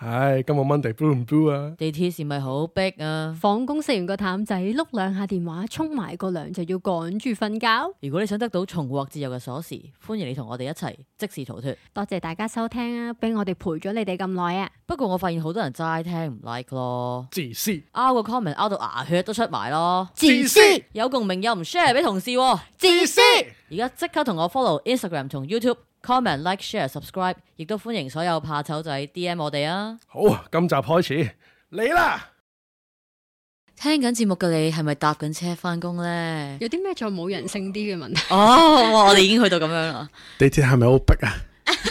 唉，今日 Monday blue 唔 blue 啊？ 地鐵是咪好逼啊？ 放工食完個淡仔，碌兩下電話，沖埋個涼就要趕住瞓覺。 如果你想得到重獲自由嘅鎖匙，歡迎你同我哋一齊即時逃脫。 多謝大家收聽啊，俾我哋陪咗你哋咁耐啊！ 不過我發現好多人齋聽唔 like 咯， 自私， 拗個 comment 拗到牙血都出埋咯， 自私， 有共鳴又唔 share 俾同事喎， 自私。 而家即刻同我 follow Instagram 同 YouTube。comment like share subscribe， 亦都歡迎所有怕醜仔 DM 我哋啊！ 好，今集開始嚟啦！ 聽緊節目嘅你係咪搭緊車翻工呢？ 有啲咩再冇人性啲嘅問題？ 哦，我哋已經去到咁樣啦。 地鐵係咪好逼啊？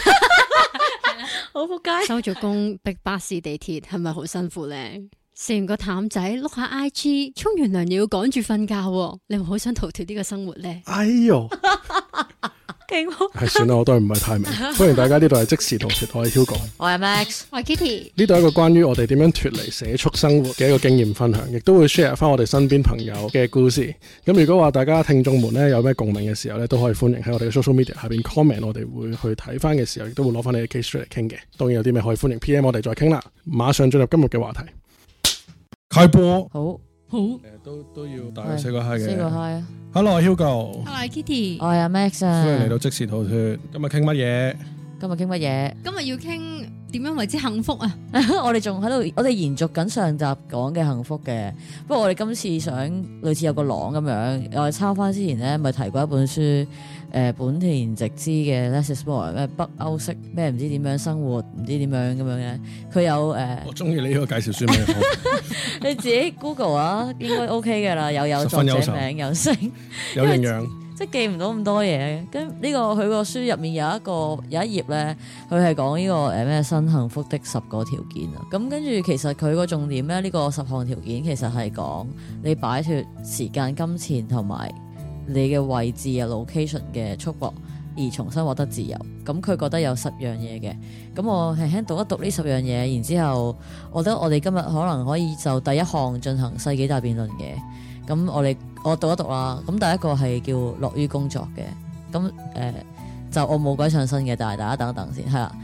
好仆街！ 收咗工逼巴士地鐵係咪好辛苦呢？食完個淡仔碌下 IG， 沖完涼又要趕住瞓覺，你會好想逃脫呢個生活呢？ 哎喲！係算啦，我都係唔係太明。歡迎大家，呢度係即時逃脫，我係 Hugo， 我係 Max， 我係 Kitty。呢度係一個關於我哋點樣脫離社畜生活嘅一個經驗分享，亦都會 share 翻我哋身邊朋友嘅故事。咁如果話大家聽眾們咧有咩共鳴嘅時候咧，都可以歡迎喺我哋嘅 social media 下邊 comment， 我哋會去睇翻嘅時候，亦都會攞翻你嘅 case 出嚟傾嘅。當然有啲咩可以歡迎 PM 我哋再傾啦。馬上進入今日嘅話題，開播。好，都要大家 say 個 hi 嘅。 say 個 hi 啊 ！Hello， 我係 Hugo。 我係 Kitty。 我係阿 Max 啊。 歡迎嚟到即時逃脫。今日傾乜嘢？ 今日要傾點樣為之幸福啊？ 我哋仲喺度，我哋延續緊上集講嘅幸福嘅。不過我哋今次想類似有個廊咁樣，我哋抄翻之前咧，咪提過一本書，本田直之嘅 Less is More 咩北歐式咩唔知點樣生活，唔知點樣咁樣嘅。佢有我中意你呢個介紹書名。 你自己 Google 啊，應該 OK 嘅啦，有作者名，有聲， 有營養。 即係記唔到咁多嘢，跟呢個佢個書入面有一頁咧，佢係講呢個咩新幸福的10個條件啊。咁跟住其實佢個重點咧，呢個10項條件其實係講你擺脫時間、金錢同埋你嘅位置啊 location 嘅束縛，而重新獲得自由。咁佢覺得有10樣嘢嘅。咁我輕輕讀一讀呢10樣嘢，然之後我覺得我哋今日可能可以就第一項進行世紀大辯論嘅。咁我讀一讀啦。咁第一個係叫樂於工作嘅。咁就我冇鬼上身嘅，但係大家等一等先，係啦。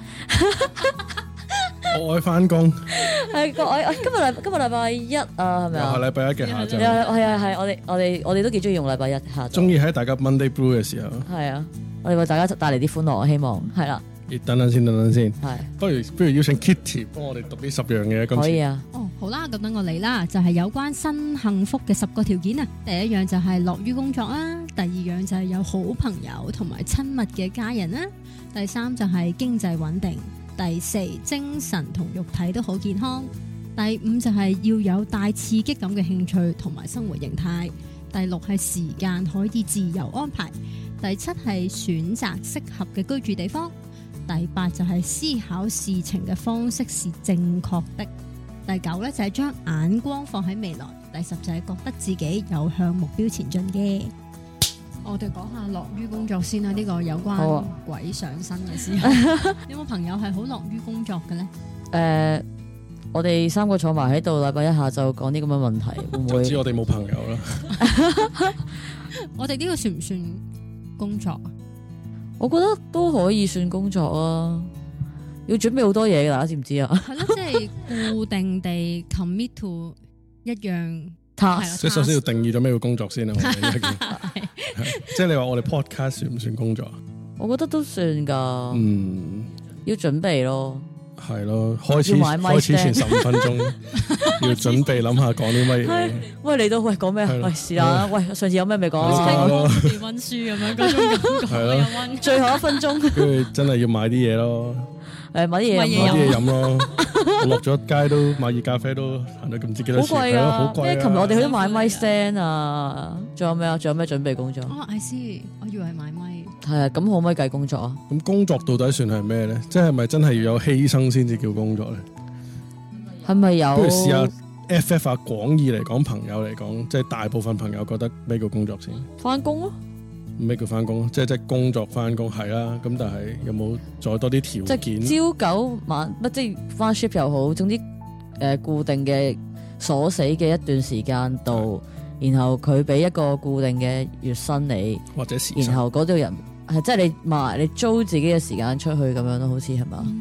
我愛翻工。 係今日禮拜一啊，係咪啊？ 係禮拜一嘅下晝。 係我哋都幾中意用禮拜一下晝。 中意喺大家 Monday Blue 嘅時候。 係啊，我哋為大家帶嚟啲歡樂，我希望係啦。 等等先。 係。不如邀請 Kitty 幫我哋讀呢10樣嘢。 可以啊。 好啦，咁等我嚟啦，就係有關新幸福嘅10個條件啊。第一樣就係樂於工作啦，第二樣就係有好朋友同埋親密嘅家人啦，第三就係經濟穩定，第四精神同肉體都好健康，第五就係要有帶刺激感嘅興趣同埋生活形態，第六係時間可以自由安排，第七係選擇適合嘅居住地方，第八就係思考事情嘅方式是正確的，第九咧就係將眼光放喺未來，第10就係覺得自己有向目標前進嘅。我哋講下樂於工作先啦，呢個有關鬼上身嘅時候，有冇朋友係好樂於工作嘅咧？ 我哋3個坐埋喺度，禮拜一下晝講啲咁嘅問題，會唔會？ 就知我哋冇朋友啦。 我哋呢個算唔算工作啊？ 我覺得都可以算工作啊，要準備好多嘢㗎，大家知唔知啊？ 係咯，即係固定地 commit to 一樣 task。 即係首先要定義咗咩叫工作先啊。即係你話我哋 podcast 算唔算工作啊？ 我覺得都算㗎。要準備咯。 係咯，開始前15分鐘要準備諗下講啲乜嘢。 喂，嚟到喂講咩啊？喂是啦，喂上次有咩未講？ 溫書咁樣嗰種感覺。係咯， 最後1分鐘。 跟住真係要買啲嘢咯。 買啲嘢飲咯。我落咗街都買熱咖啡都行到唔知幾多錢。好貴啊！ 好貴啊！ 琴日我哋去咗買咪 stand 啊，仲有咩啊？仲有咩準備工作 ？I see，我以為係買咪。 係啊，咁可唔可以計工作啊？ 咁工作到底算係咩咧？即係咪真係要有犧牲先至叫工作咧？ 係咪有？ 不如試下 FF 啊，廣義嚟講，朋友嚟講，即係大部分朋友覺得咩叫工作先？ 翻工咯。 咩叫翻工？即係工作翻工係啦。咁但係有冇再多啲條件？ 即係朝9晚乜，即係翻 shift 又好，總之固定嘅鎖死嘅一段時間度，然後佢俾一個固定嘅月薪你， 或者時薪， 然後嗰度人係即係你租自己嘅時間出去咁樣咯，好似係嘛？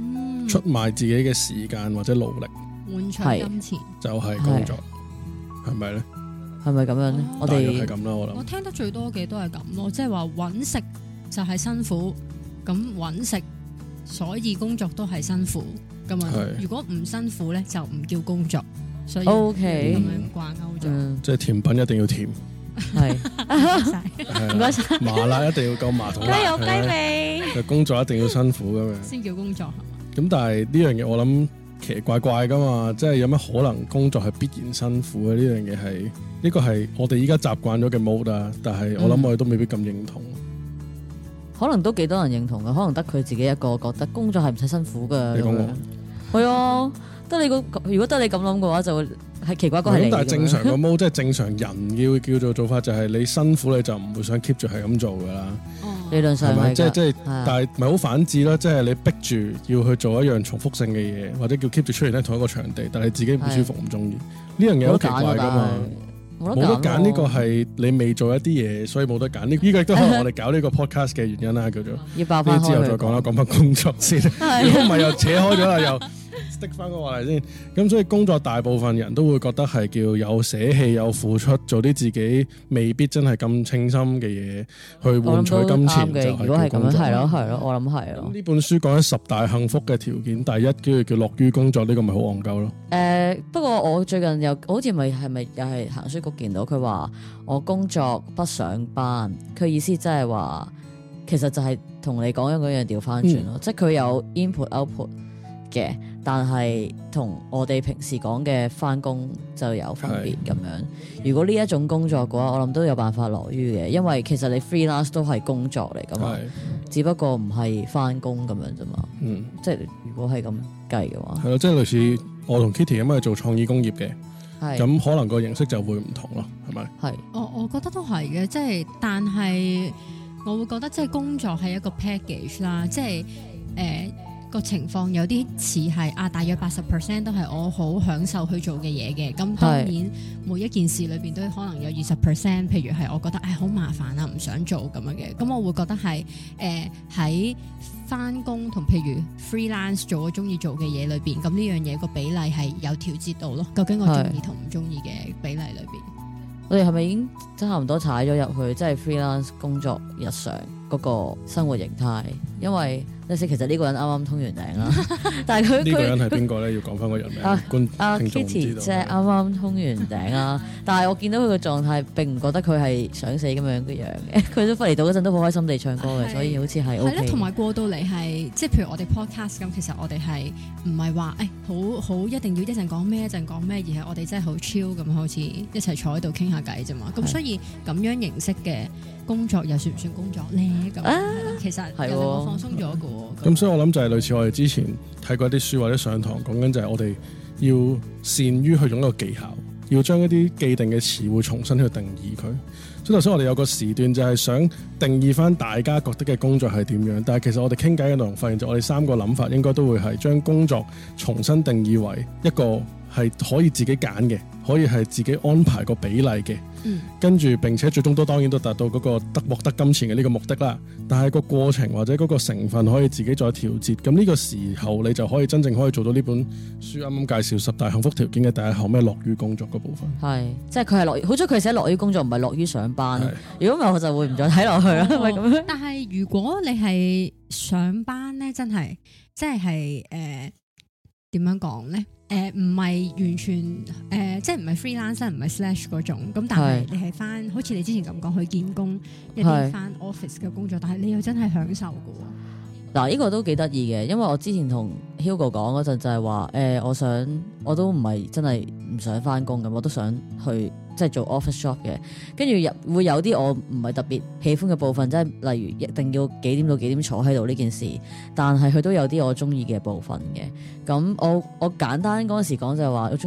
出賣自己嘅時間或者努力換取金錢， 就係工作，係咪咧？ 係咪咁樣咧？我大約係哋咁啦，我諗。 我聽得最多嘅都係咁咯，即係話揾食就係辛苦，咁揾食所以工作都係辛苦咁啊。如果唔辛苦咧，就唔叫工作，所以 OK 咁樣掛鈎咗。 即係甜品一定要甜， 係唔該晒， 唔該晒， 麻辣一定要夠麻同辣， 雞有雞係咪味。 就工作一定要辛苦咁樣。 先叫工作。 咁但係呢樣嘢我諗奇奇怪怪噶嘛，即係有乜可能工作係必然辛苦嘅？呢樣嘢係呢個係我哋依家習慣咗嘅 mode 啊，但係我諗我哋都未必咁認同。 可能都幾多人認同嘅，可能得佢自己一個覺得工作係唔使辛苦㗎。 你講我係啊，得你如果得你咁諗嘅話，就會係奇怪係你。 但係正常個 mode 即係正常人叫做法就係你辛苦你就唔會想 keep 住係咁做㗎啦。 理論上係即係，但係咪好反智咯？即係你逼住要去做一樣重複性嘅嘢，或者叫 keep 住出現喺同一個場地，但係你自己唔舒服唔中意，呢樣嘢好奇怪噶嘛？冇得揀，呢個係你未做一啲嘢，所以冇得揀。呢個亦都可能我哋搞呢個 podcast 嘅原因啦，叫做要爆翻開。 之後再講啦，講翻工作先。如果唔係又扯開咗啦，又 stick 翻個話題先。咁所以工作大部分人都會覺得係叫有捨棄、有付出，做啲自己未必真係咁稱心嘅嘢，去換取金錢就係如果係咁樣， 叫工作。 係咯，我諗係咯。 呢本書講緊10大幸福嘅條件，第一叫樂於工作，呢個咪好戇鳩咯。 不過我最近又好似係咪又係行書局見到佢話我工作不上班，佢意思即係話其實就係同你講緊嗰樣調翻轉咯，即係佢有 input output 嘅，但係同我哋平時講嘅翻工就有分別咁樣。如果呢一種工作嘅話，我諗都有辦法樂於嘅，因為其實你 freelance 都係工作嚟噶嘛，只不過唔係翻工咁樣啫嘛。即係如果係咁計嘅話， 係咯，即係類似我同 Kitty 咁樣做創意工業嘅，咁可能個形式就會唔同咯，係咪？ 係， 我覺得都係嘅，即係但係我會覺得即係工作係一個 package 啦，即係個情況有啲似係大約80% 都係我好享受去做嘅嘢嘅，咁當然每一件事裏邊都可能有20%，譬如係我覺得好麻煩啊，唔想做咁樣嘅，咁我會覺得係喺翻工同譬如 freelance 做我中意做嘅嘢裏邊，咁呢樣嘢個比例係有調節到咯。究竟我中意同唔中意嘅比例裏邊， 我哋係咪已經差唔多踩咗入去，即係 freelance 工作日常嗰個生活形態？因為其實呢個人啱啱通完頂啦，但係呢個人係邊個咧？要講翻個人名。 Kitty 即係啱啱通完頂啦，但係我見到佢個狀態並唔覺得佢係想死咁樣嘅樣嘅，佢都翻嚟到嗰陣都好開心地唱歌嘅，所以好似係 OK。 同埋過到嚟係即係譬如我哋 podcast 咁，其實我哋係唔係話好一定要一陣講咩一陣講咩，而係我哋真係好 chill 咁，好似一齊坐喺度傾下偈啫嘛。咁所以咁樣形式嘅工作又算唔算工作咧？咁其實又令我放鬆咗嘅。 咁所以我諗就係類似我哋之前睇過一啲書或者上堂講緊就係我哋要善於去用一個技巧，要將一啲既定嘅詞彙重新去定義佢。所以頭先我哋有個時段就係想定義翻大家覺得嘅工作係點樣，但係其實我哋傾偈嘅內容發現就我哋3個諗法應該都會係將工作重新定義為一個係可以自己揀嘅，可以係自己安排個比例嘅，跟住並且最終都當然都達到嗰個獲得金錢嘅呢個目的啦。但係個過程或者嗰個成分可以自己再調節，咁呢個時候你就可以真正可以做到呢本書啱啱介紹10大幸福條件嘅第一項咩樂於工作嗰部分。 係，即係佢係樂，好彩佢寫樂於工作，唔係樂於上班。如果唔係我就會唔再睇落去啦。係咪咁樣？ 但係如果你係上班咧，真係即係點樣講咧？唔係完全即係唔係 freelance 唔係 slash 嗰種，咁但係你係翻好似你之前咁講去見工一啲翻 office 嘅工作，但係你又真係享受嘅。 嗱，呢個都幾得意嘅，因為我之前同 Hugo 講嗰陣就係話我都唔係真係唔想翻工咁，我都想去即係做 office job 嘅，跟住會有啲我唔係特別喜歡嘅部分，即係例如一定要幾點到幾點坐喺度呢件事，但係佢都有啲我中意嘅部分嘅。咁我簡單嗰陣時講就係話我中意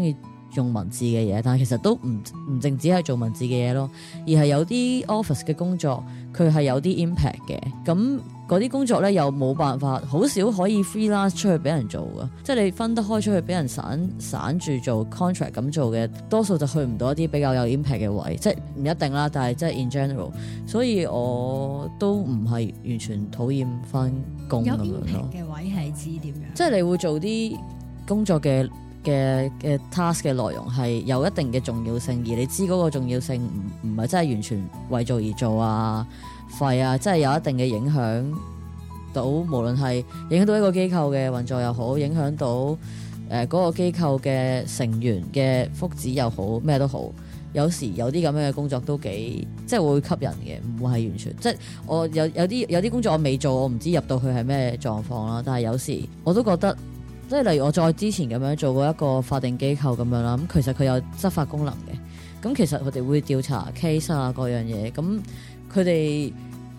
用文字嘅嘢，但係其實都唔淨止係做文字嘅嘢咯，而係有啲 office 嘅工作佢係有啲 impact 嘅，咁嗰啲工作咧又冇辦法，好少可以 freelance 出去俾人做噶，即係你分得開出去俾人散住做 contract 咁做嘅，多數就去唔到一啲比較有 impact 嘅位，即係唔一定啦，但係即係 in general， 所以我都唔係完全討厭翻工咁樣咯。 有 impact 嘅位係指點樣？ 即係你會做啲工作嘅 task 嘅內容係有一定嘅重要性，而你知嗰個重要性唔係真係完全為做而做啊，廢啊，即係有一定嘅影響到，無論係影響到一個機構嘅運作又好，影響到嗰個機構嘅成員嘅福祉又好，咩都好。有時有啲咁樣嘅工作都幾即係會吸引嘅，唔會係完全即係我有啲工作我未做，我唔知入到去係咩狀況啦。但係有時我都覺得，即係例如我再之前咁樣做過一個法定機構咁樣啦，咁其實佢有執法功能嘅，咁其實佢哋會調查 case 啊各樣嘢，咁佢哋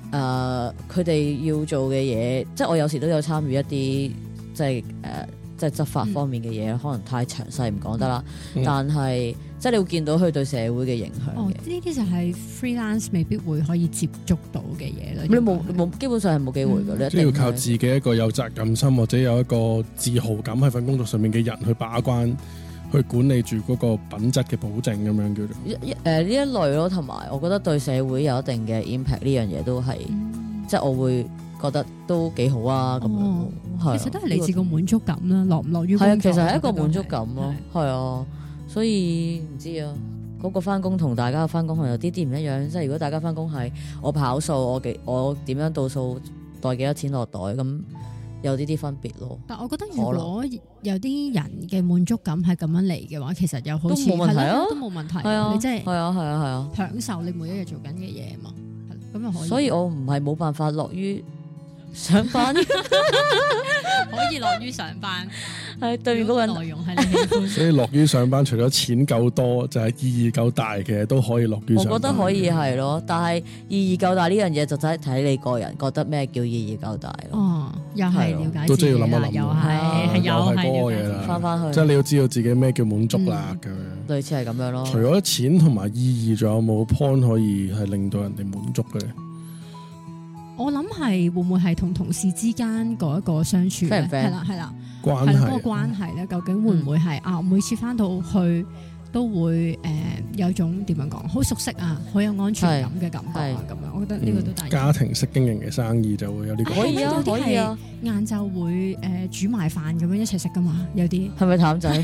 要做嘅嘢，即係我有時都有參與一啲即係執法方面嘅嘢，可能太詳細唔講得啦。但係即係你會見到佢對社會嘅影響嘅。 呢啲就係 freelance 未必會可以接觸到嘅嘢啦。 你冇基本上係冇機會嘅， 你要靠自己一個有責任心或者有一個自豪感喺份工作上面嘅人去把關，去管理住嗰個品質嘅保證咁樣叫做。 呢一類咯，同埋我覺得對社會有一定嘅 impact 呢樣嘢都係，即係我會覺得都幾好啊咁樣。 其實都係嚟自個滿足感啦，落唔落於工作。 係啊，其實係一個滿足感咯，係啊，所以唔知啊，嗰個翻工同大家嘅翻工係有啲唔一樣。即係如果大家翻工係我跑數，我點樣倒數袋幾多錢落袋，咁有啲分別咯。 但我覺得如果有啲人嘅滿足感係咁樣嚟嘅話，其實又好似都冇問題啊， 都冇問題。 係啊， 你即係係啊， 享受你每一日做緊嘅嘢嘛，係咁又可以。 所以我唔係冇辦法樂於上班， 可以樂於上班。 係對面嗰個內容係你喜歡， 所以樂於上班，除咗錢夠多，就係意義夠大嘅都可以樂於上班。 我覺得可以係咯，但係意義夠大呢樣嘢就真係睇你個人覺得咩叫意義夠大咯。 哦，又係了解都真係要諗一啦， 諗， 又係嗰個嘢啦， 翻返去， 即係你要知道自己咩叫滿足啦咁樣。 類似係咁樣咯。 除咗錢同埋意義，仲有冇 point 可以係令到人哋滿足嘅咧？ 我諗係會唔會係同同事之間嗰一個相處咧？係啦， 關係嗰個關係咧，究竟會唔會係每次翻到去都會有種點樣講，好熟悉啊，好有安全感嘅感覺啊，咁樣，我覺得呢個都大。 家庭式經營嘅生意就會有呢個。 可以啊，可以啊。 晏晝會煮埋飯咁樣一齊食噶嘛，有啲係咪淡仔？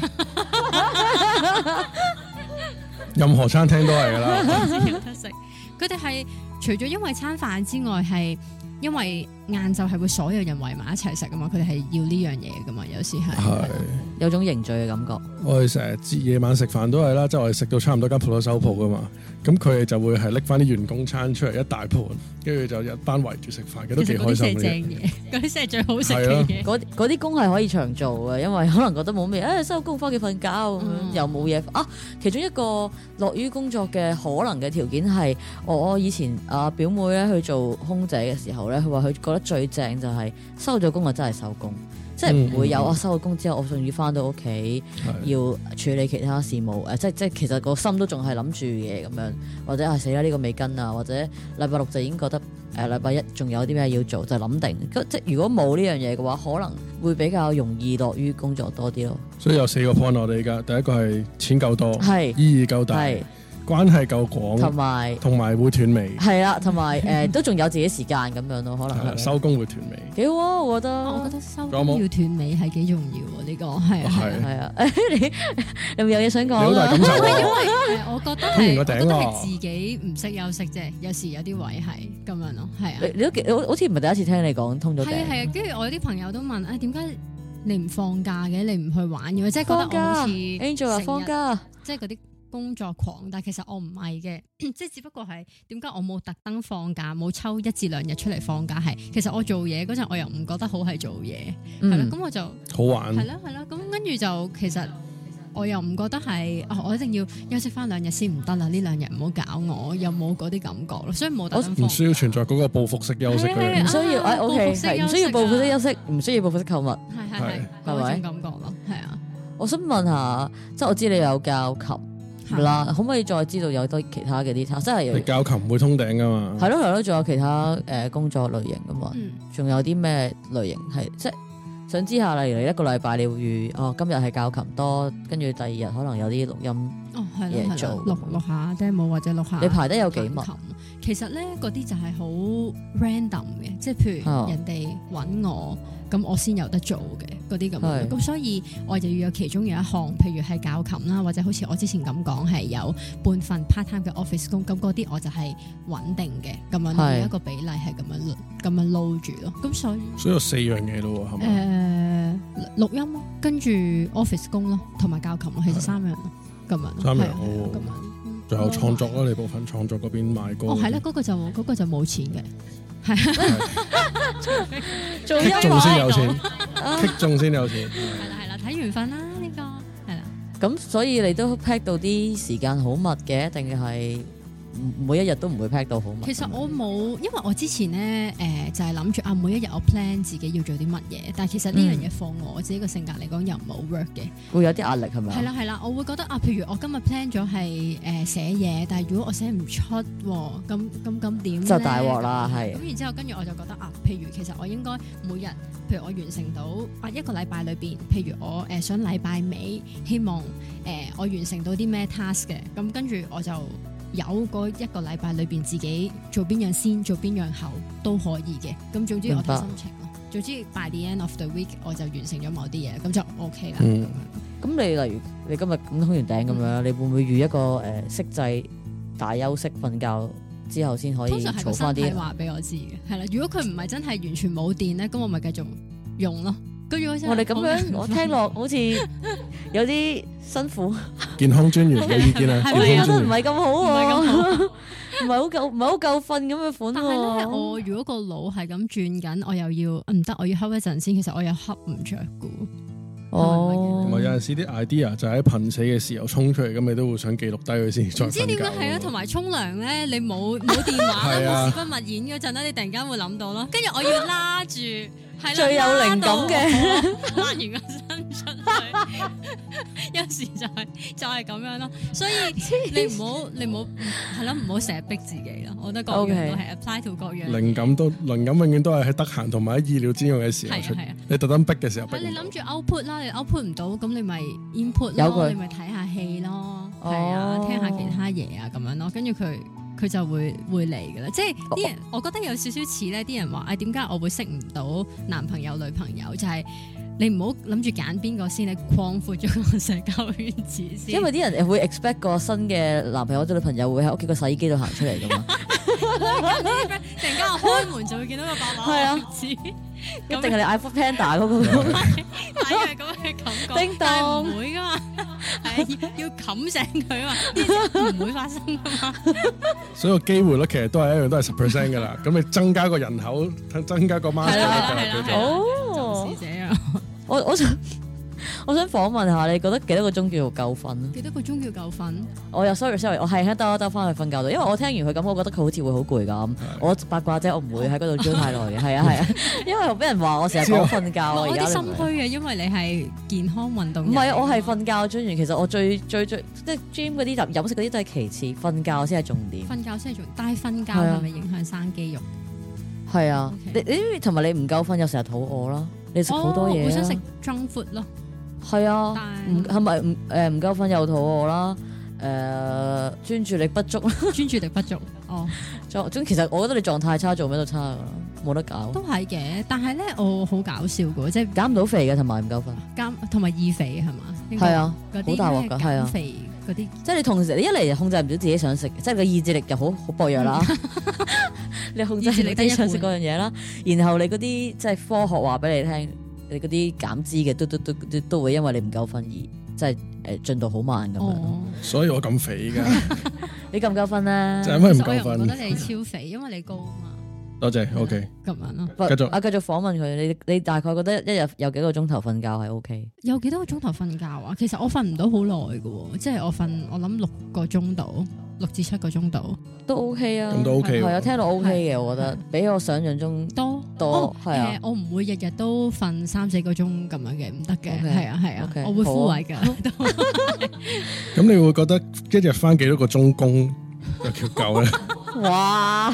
任何餐廳都係噶啦。 有得食，佢哋係除咗因為餐飯之外，係因為晏晝係會所有人圍埋一齊食噶嘛，佢哋係要呢樣嘢噶嘛，有時係有種凝聚嘅感覺。 我哋成日夜晚食飯都係啦，即係我哋食到差唔多間鋪頭收鋪噶嘛，咁佢哋就會係拎翻啲員工餐出嚟一大盤，跟住就一班圍住食飯嘅，都幾開心嘅。 正嘢，嗰啲先係最好食嘅嘢。 嗰啲工係可以長做嘅，因為可能覺得冇咩，收工翻屋企瞓覺咁樣，又冇嘢啊。其中一個樂於工作嘅可能嘅條件係，我以前表妹咧去做空姐嘅時候咧，佢話佢覺得最正就係收咗工就真係收工。即係唔會有我收咗工之後，我仲要翻到屋企要處理其他事務，即係其實個心都仲係諗住嘢咁樣，或者係死啦呢個未跟啊，或者禮拜六就已經覺得禮拜一仲有啲咩要做，就諗定。即係如果冇呢樣嘢嘅話，可能會比較容易樂於工作多啲咯。 所以有4個 point 我哋而家，第一個係錢夠多，意義夠大。關係夠廣，同埋會斷尾， 係啦，同埋都仲有自己時間咁樣咯，可能收工會斷尾， 幾好啊！我覺得收工要斷尾係幾重要喎，呢個係啊， 你有冇嘢想講啊？ 好大感受啊！ 因為我覺得係自己唔識休息啫，有時有啲位係咁樣咯，係啊。 你都好似唔係第一次聽你講通咗頂， 係啊，跟住我有啲朋友都問點解你唔放假嘅？你唔去玩嘅？即係覺得我好似 Angel 啊放假， 即係嗰啲。工作狂，但係其實我唔係嘅，即係只不過係點解我冇特登放假，冇抽1至2日出嚟放假，係其實我做嘢嗰陣我又唔覺得好係做嘢，係啦，咁我就好玩， 係啦，咁跟住就其實我又唔覺得係我一定要休息翻2日先唔得啦，呢2日唔好搞我，又冇嗰啲感覺咯，所以冇特登放。 唔需要存在嗰個報復式休息嘅， 唔需要，OK，唔需要報復式休息，唔需要報復式購物， 係嗰種感覺咯，係啊。 我想問下，即係我知你有教琴啦，可唔可以再知道有得其他嘅啲 task？ 即係你教琴唔會通頂噶嘛？ 係咯，仲有其他工作類型噶嘛？仲有啲咩類型係即係想知下，例如你一個禮拜你會預今日係教琴多，跟住第二日可能有啲錄音嘢做， 錄下 demo 或者錄下。 你排得有幾密？ 其實咧嗰啲就係好 random 嘅，即係譬如人哋揾我，咁我先有得做嘅嗰啲咁樣。咁所以我就要有其中有一項，譬如係教琴啦，或者好似我之前咁講係有半份 part time 嘅 office 工，咁嗰啲我就係穩定嘅咁樣，一個比例係咁樣撈住咯。咁所以有4樣嘢咯，係咪？ 錄音咯，跟住 office 工咯，同埋教琴咯，其實3樣咯，咁樣。 3樣咁樣。 仲有創作啦，你部分創作嗰邊賣歌。 係啦，嗰個就冇錢嘅，係做音樂先有錢，擊中先有錢。 係啦，睇緣分啦呢個係啦。 咁所以你都 pack 到啲時間好密嘅，定係每一日都唔會 pack 到好密？ 其實我冇，因為我之前咧就係諗住每一日我 plan 自己要做啲乜嘢，但係其實呢樣嘢放我自己個性格嚟講又唔係好 work 嘅， 會有啲壓力係咪？ 係啦，我會覺得譬如我今日 plan 咗係寫嘢，但係如果我寫唔出咁點就大鑊啦，係。 咁然之後跟住我就覺得譬如其實我應該每日，譬如我完成到一個禮拜裏邊，譬如我想禮拜尾希望我完成到啲咩 task 嘅，咁跟住我就有嗰一個禮拜裏邊自己做邊樣先，做邊樣後都可以嘅。咁總之我睇心情咯。總之 by the end of the week 我就完成咗某啲嘢，咁就 OK 啦。 咁你例如你今日咁通完頂咁樣，你會唔會預一個息制大休息瞓覺之後先可以儲翻啲？通常係個身體話俾我知嘅，係啦。如果佢唔係真係完全冇電咧，咁我咪繼續用咯。我哋咁樣， 我聽落好似有啲辛苦。 健康專員有意見啊？ 我覺得唔係咁好喎，唔係好夠瞓咁嘅款喎。 但係咧，我如果個腦係咁轉緊，我又要唔得，我要瞌一陣先。其實我又瞌唔着噶。 同埋有陣時啲 idea 就喺瀕死嘅時候衝出嚟，咁你都會想記錄低佢先再瞓覺。唔知點解係啊，同埋沖涼咧，你冇電話啦，冇事不勿演嗰陣咧，你突然間會諗到咯。跟住我要拉住。 最有靈感嘅， 拉完個身出去，有時就係咁樣咯。所以你唔好係咯，唔好成日逼自己咯。我覺得各樣都係 apply to 各樣。 靈感永遠都係喺得閒同埋喺意料之外嘅時候出。你特登逼嘅時候逼。你諗住 output 啦，你 output 唔到，咁你咪 input 咯，你咪睇下戲咯，係啊，聽下其他嘢啊，咁樣咯，跟住佢就會嚟㗎啦，即係啲人，我覺得有少少似咧，啲人話點解我會識唔到男朋友女朋友，就係你唔好諗住揀邊個先，你擴闊咗個社交圈子先。因為啲人會 expect 個新嘅男朋友或者女朋友會喺屋企個洗衣機度行出嚟㗎嘛。 突然間我開門就會見到個白馬王子， 一定係你 iPhone Panda 嗰個。 係咁嘅感覺， 叮當， 但係唔會㗎嘛，係要冚醒佢啊嘛，唔會發生㗎嘛。 所以個機會率其實都係一樣，都係10% 㗎啦。咁你增加個人口，增加個 master 哦， 是這樣。 我想訪問下，你覺得幾多個鐘叫做夠瞓？ 幾多個鐘叫夠瞓？ 我又 sorry，我係兜翻去瞓覺度，因為我聽完佢咁，我覺得佢好似會好攰咁。我八卦啫，我唔會喺嗰度追太耐嘅。係啊，因為俾人話我成日講瞓覺。 我啲心虛嘅，因為你係健康運動。 唔係，我係瞓覺專員。其實我最即係 gym 嗰啲飲食嗰啲都係其次，瞓覺先係重點。 瞓覺先係重點，但係瞓覺係咪影響生肌肉？ 係啊，你同埋你唔夠瞓又成日肚餓啦，你食好多嘢。 我想食 junk food 咯。 係啊，係咪唔夠瞓又肚餓啦？專注力不足啦， 專注力不足哦。 其實我覺得你狀態差，做咩都差噶啦，冇得搞。 都係嘅，但係咧我好搞笑噶，即係減唔到肥嘅，同埋唔夠瞓， 同埋易肥係嘛？ 係啊，好大鑊噶，係啊， 肥嗰啲， 即係你同時你一嚟控制唔到自己想食，即係個意志力又好薄弱啦。你控制唔到自己想食嗰樣嘢啦，然後你嗰啲即係科學話俾你聽。你嗰啲減脂嘅都會因為你唔夠瞓而即係進度好慢咁樣， 所以我咁肥噶。 你夠唔夠瞓咧？ 就因為唔夠瞓。 我覺得你超肥，因為你高啊嘛。 多謝 ，OK。 咁樣咯， 繼續訪問佢。你大概覺得一日有幾個鐘頭瞓覺係 OK？ 有幾多個鐘頭瞓覺啊？其實我瞓唔到好耐嘅，即係我諗6個鐘度，6至7個鐘度都 OK 啊。 咁都 OK。 係啊，聽到 OK 嘅，我覺得比我想象中多。 多，係啊。 我唔會日日都瞓3-4個鐘咁樣嘅，唔得嘅， OK， 係啊， OK， 我會枯萎㗎。 咁你會覺得一日翻幾多個鐘工就叫夠咧？ 哇！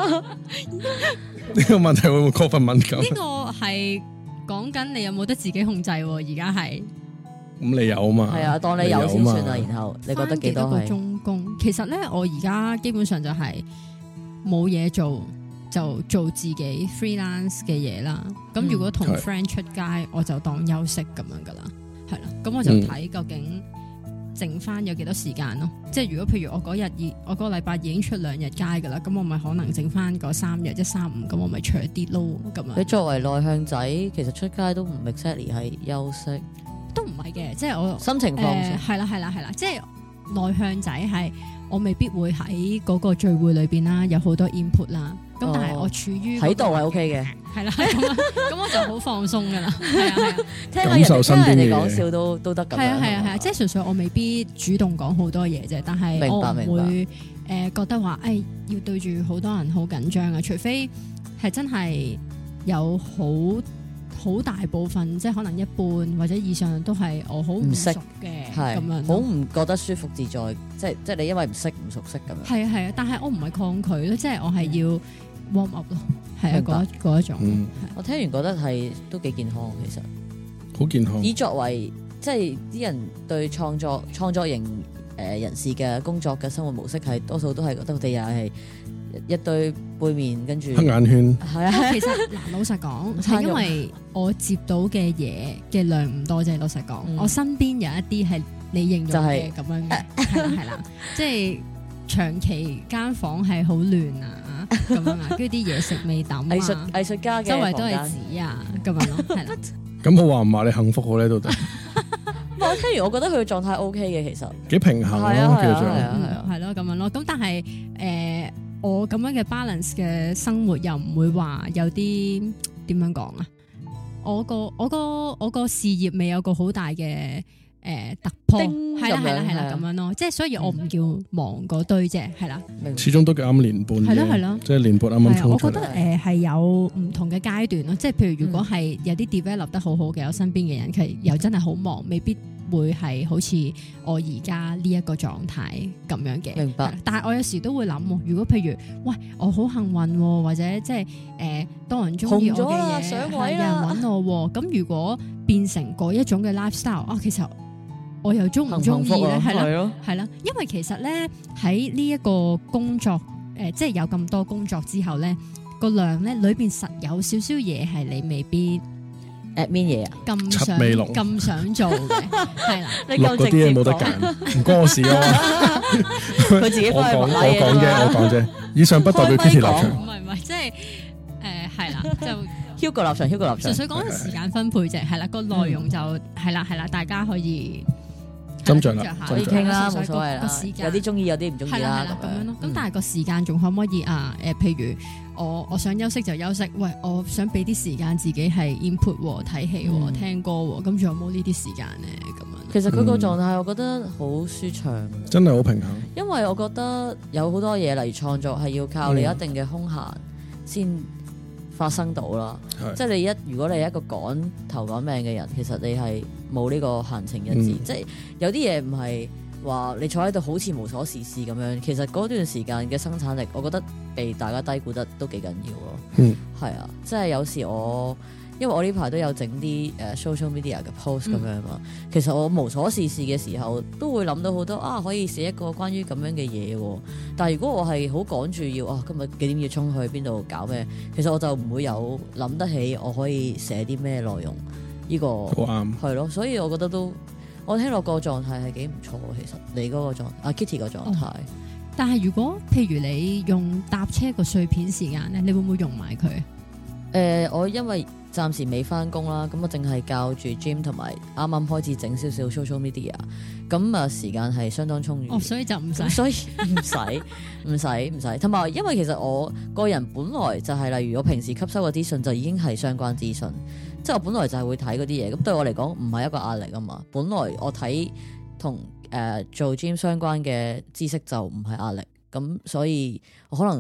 呢個問題會唔會過分敏感？ 呢個係講緊你有冇得自己控制喎？而家係咁你有嘛？ 係啊，當你有先算啦。然後你覺得幾多個係？ 鐘工？其實咧，我而家基本上就係冇嘢做，就做自己 freelance 嘅嘢啦。咁如果同 friend 出街，我就當休息咁樣噶啦，係啦。咁我就睇究竟剩翻有幾多時間咯。即係如果譬如我嗰個禮拜已經出2日街噶啦，咁我咪可能剩翻嗰3日1、3、5，咁我咪長啲咯。咁樣。 你作為內向仔，其實出街都唔 exactly 係休息， 都唔係嘅，即係我心情放鬆。 係啦，即係內向仔係我未必會喺嗰個聚會裏邊啦，有好多 input 啦。咁但係我處於喺度係 OK 嘅， 係啦，咁我就好放鬆噶啦，係啊， 聽下人哋講笑都得咁樣。 係啊，即係純粹我未必主動講好多嘢啫，但係我唔會覺得話要對住好多人好緊張啊，除非係真係有好大部分，即係可能一半或者以上都係我好唔熟嘅咁樣， 好唔覺得舒服自在，即係你因為唔熟悉咁樣。 係啊，但係我唔係抗拒咯，即係我係要 warm up 咯，係啊嗰一種。 我聽完覺得係都幾健康，其實好健康。 以作為即係啲人對創作型人士嘅工作嘅生活模式係多數都係覺得佢哋又係一堆背面跟住黑眼圈。 係啊， 其實老實講係因為我接到嘅嘢嘅量唔多啫。老實講，我身邊有一啲係你形容嘅咁樣嘅，係啦，即係長期間房係好亂啊咁樣啊，跟住啲嘢食未抌啊， 藝術家嘅周圍都係紙啊咁樣咯，係啦。 咁我話唔話你幸福好咧到底？ 我聽完我覺得佢嘅狀態 OK 嘅，其實幾平衡咯，叫做係咯咁樣咯。咁但係我咁樣嘅 balance 嘅生活又唔會話有啲點樣講啊？我個事業未有個好大嘅突破，係啦咁樣咯。即係所以我唔叫忙嗰堆啫，係啦。 始終都啱年半嘅，係咯，即係年半啱啱衝出嚟。 我覺得係有唔同嘅階段咯。即係譬如如果係有啲 develop 得好好嘅，我身邊嘅人佢又真係好忙，未必會係好似我而家呢一個狀態咁樣嘅。 明白。 但係我有時都會諗，如果譬如喂我好幸運，或者即係多人中意我嘅嘢，有人揾我，咁如果變成嗰一種嘅 lifestyle 其實我又中唔中意咧？係啦，因為其實咧喺呢一個工作即係有咁多工作之後咧，個量咧裏邊實有少少嘢係你未必 admin 嘢啊，咁想做嘅，係啦， 錄嗰啲嘢冇得揀，唔關我事啊！ 佢自己我講啫，以上不代表 Kitty 立場。 唔係，即係係啦，就 Hugo 立場， 純粹講時間分配啫，係啦，個內容就係啦，大家可以斟酌啦， 可以傾啦，冇所謂啦。有啲中意，有啲唔中意啦， 咁樣咯。咁但係個時間仲可唔可以譬如我想休息就休息，喂，我想俾啲時間自己係 input 睇戲聽歌，咁仲有冇呢啲時間咧？咁樣。 其實佢個狀態，我覺得好舒暢，真係好平衡。 因為我覺得有好多嘢，例如創作係要靠你一定嘅空閒先發生到啦。即係如果你係一個頭趕命嘅人，其實你係冇呢個閒情逸致。即係有啲嘢唔係話你坐喺度好似無所事事咁樣，其實嗰段時間嘅生產力，我覺得被大家低估得都幾緊要咯。係啊，即係有時因為我呢排都有整啲social media 嘅 post 咁樣嘛，其實我無所事事嘅時候都會諗到好多可以寫一個關於咁樣嘅嘢。但係如果我係好趕住要今日幾點要衝去邊度搞咩，其實我就唔會有諗得起我可以寫啲咩內容。呢個好啱，係咯，所以我覺得我聽落個狀態係幾唔錯。其實你嗰個Kitty 個狀態， 但係如果譬如你用搭車個碎片時間咧，你會唔會用埋佢？ 我因為暫時未翻工啦，咁我淨係教住 gym 同埋啱啱開始整少少 social media， 咁時間係相當充裕。 所以就唔使， 所以唔使，同埋因為其實我個人本來就係例如我平時吸收嘅資訊就已經係相關資訊，即係我本來就係會睇嗰啲嘢，咁對我嚟講唔係一個壓力啊嘛。本來我睇同做 gym 相關嘅知識就唔係壓力，咁所以我可能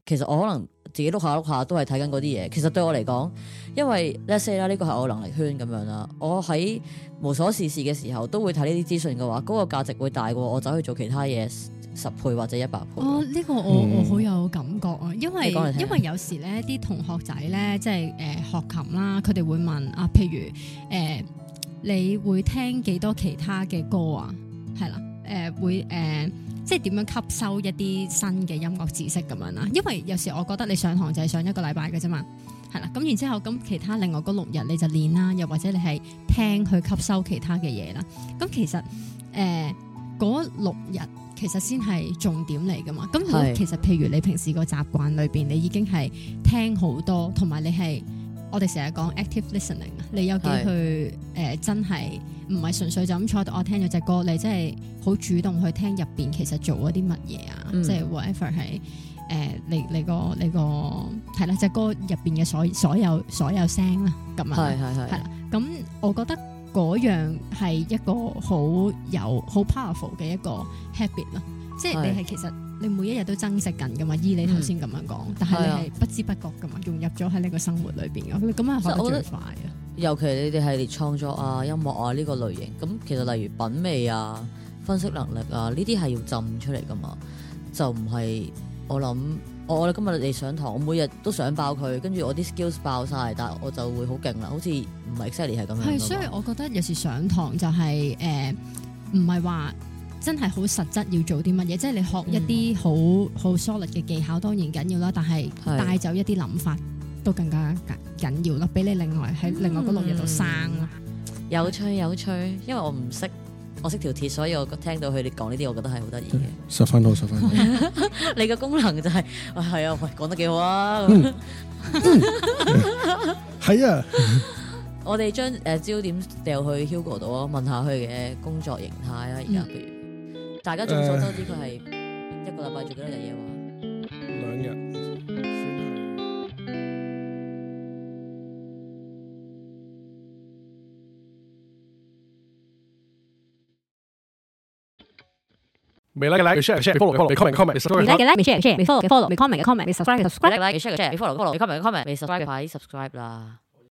其實我可能自己碌下都係睇緊嗰啲嘢。其實對我嚟講，因為 let's say 啦，呢個係我能力圈咁樣啦。我喺無所事事嘅時候都會睇呢啲資訊嘅話，嗰個價值會大過我走去做其他嘢10倍或者100倍。 哦，呢個我好有感覺啊，因為你講嚟聽有時咧啲同學仔咧，即係學琴啦，佢哋會問啊，譬如你會聽幾多其他嘅歌啊？係啦，會即係點樣吸收一啲新嘅音樂知識咁樣啦？因為有時我覺得你上堂就係上1個禮拜嘅啫嘛，係啦，咁然之後咁其他另外嗰6日你就練啦，又或者你係聽去吸收其他嘅嘢啦。咁其實嗰6日其實先係重點嚟噶嘛。咁如果其實譬如你平時個習慣裏邊，你已經係聽好多，同埋你係我哋成日講 active listening， 你有幾去真係唔係純粹就咁坐度我聽咗隻歌，你真係好主動去聽入邊其實做咗啲乜嘢啊？即係 whatever 係你個係啦，隻歌入邊嘅所有聲啦，咁啊係啦。咁我覺得嗰樣係一個好 powerful 嘅一個 habit 咯，即係你係其實你每一日都增值緊噶嘛，依你頭先咁樣講，但係你係不知不覺噶嘛，融入咗喺你個生活裏邊嘅，咁啊學得最快啊！ 尤其你哋係列創作啊、音樂啊呢個類型，咁其實例如品味啊、分析能力啊呢啲係要浸出嚟噶嘛，就唔係我諗我今日嚟上堂，我每日都想爆佢，跟住我啲 skills 爆晒，但係我就會好勁啦，好似唔係 exactly 係咁樣。係， 所以我覺得有時上堂就係唔係話真係好實質要做啲乜嘢，即係你學一啲好 solid 嘅技巧當然緊要啦，但係帶走一啲諗法都更加緊要咯，俾你另外喺另外嗰6日度生啦。 有趣，因為我唔識。我識條鐵，所以我聽到佢哋講呢啲，我覺得係好得意嘅。 10分好，10分好。 你嘅功能就係係啊，喂，講得幾好啊！ 係啊， 我哋將焦點掉去 Hugo 度啊，問下佢嘅工作形態啦。而家譬如大家眾所周知，佢係1個禮拜做幾多日嘢話 2日。未 like 嘅 share follow comment subscribe。 未 like 嘅 share follow comment comment subscribe。 like share follow comment subscribe 快啲 subscribe 啦。